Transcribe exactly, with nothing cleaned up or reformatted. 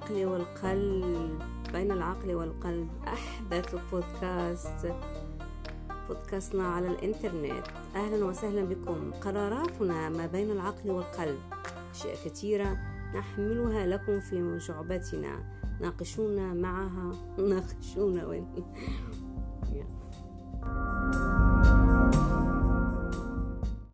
العقل والقلب، بين العقل والقلب، أحدث بودكاست بودكاستنا على الإنترنت. أهلا وسهلا بكم. قراراتنا ما بين العقل والقلب، أشياء كثيرة نحملها لكم في شعبتنا، ناقشونا معها ناقشونا وين